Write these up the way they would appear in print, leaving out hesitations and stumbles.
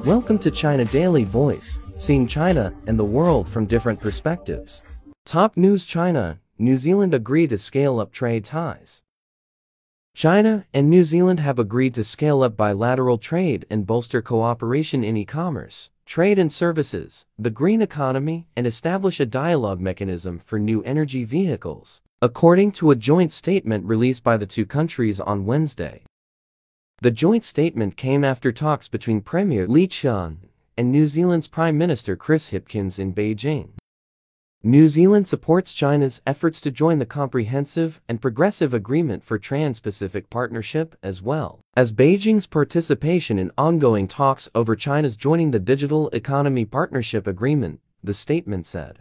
Welcome to China Daily Voice, seeing China and the world from different perspectives. Top news: China, New Zealand agree to scale up trade ties. China and New Zealand have agreed to scale up bilateral trade and bolster cooperation in e-commerce, trade and services, the green economy, and establish a dialogue mechanism for new energy vehicles, according to a joint statement released by the two countries on Wednesday. The joint statement came after talks between Premier Lee Cheung and New Zealand's Prime Minister Chris Hipkins in Beijing. New Zealand supports China's efforts to join the Comprehensive and Progressive Agreement for Trans-Pacific Partnership, as well as Beijing's participation in ongoing talks over China's joining the Digital Economy Partnership Agreement, the statement said.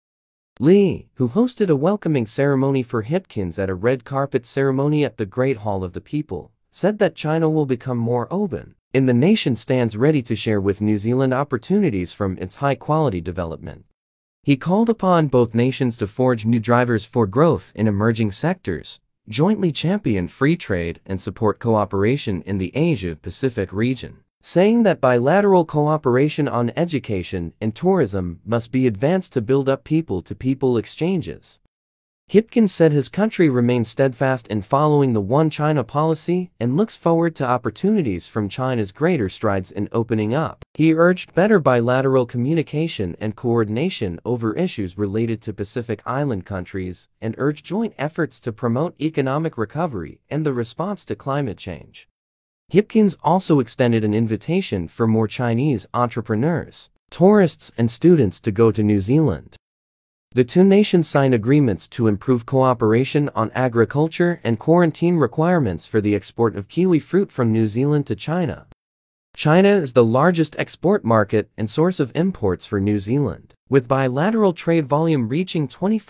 Lee, who hosted a welcoming ceremony for Hipkins at a red carpet ceremony at the Great Hall of the People, said that China will become more open, and the nation stands ready to share with New Zealand opportunities from its high-quality development. He called upon both nations to forge new drivers for growth in emerging sectors, jointly champion free trade and support cooperation in the Asia-Pacific region, saying that bilateral cooperation on education and tourism must be advanced to build up people-to-people exchanges. Hipkins said his country remains steadfast in following the One China policy and looks forward to opportunities from China's greater strides in opening up. He urged better bilateral communication and coordination over issues related to Pacific Island countries and urged joint efforts to promote economic recovery and the response to climate change. Hipkins also extended an invitation for more Chinese entrepreneurs, tourists, and students to go to New Zealand. The two nations signed agreements to improve cooperation on agriculture and quarantine requirements for the export of kiwi fruit from New Zealand to China. China is the largest export market and source of imports for New Zealand, with bilateral trade volume reaching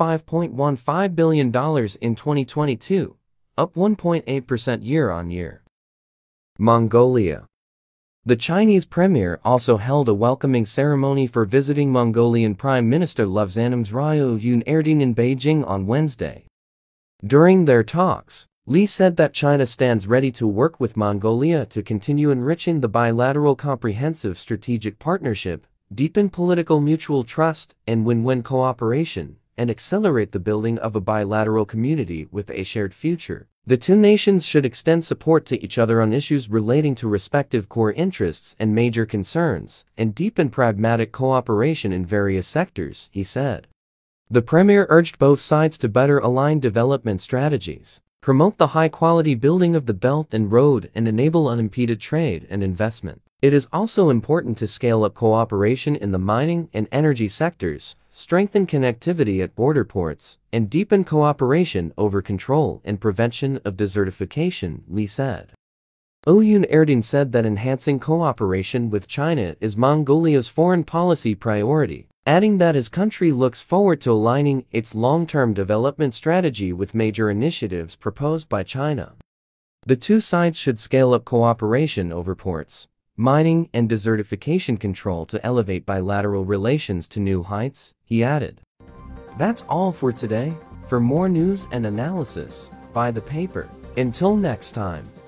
$25.15 billion in 2022, up 1.8% year-on-year. Mongolia. The Chinese premier also held a welcoming ceremony for visiting Mongolian Prime Minister Lobsang Ryoo Erdene in Beijing on Wednesday. During their talks, Lee said that China stands ready to work with Mongolia to continue enriching the bilateral comprehensive strategic partnership, deepen political mutual trust and win-win cooperation, and accelerate the building of a bilateral community with a shared future. The two nations should extend support to each other on issues relating to respective core interests and major concerns, and deepen pragmatic cooperation in various sectors, he said. The premier urged both sides to better align development strategies, promote the high-quality building of the Belt and Road, and enable unimpeded trade and investment. It is also important to scale up cooperation in the mining and energy sectors, strengthen connectivity at border ports, and deepen cooperation over control and prevention of desertification, Lee said. Oyun Erdene said that enhancing cooperation with China is Mongolia's foreign policy priority, adding that his country looks forward to aligning its long-term development strategy with major initiatives proposed by China. The two sides should scale up cooperation over ports, mining, and desertification control to elevate bilateral relations to new heights, he added. That's all for today. For more news and analysis, buy the paper. Until next time.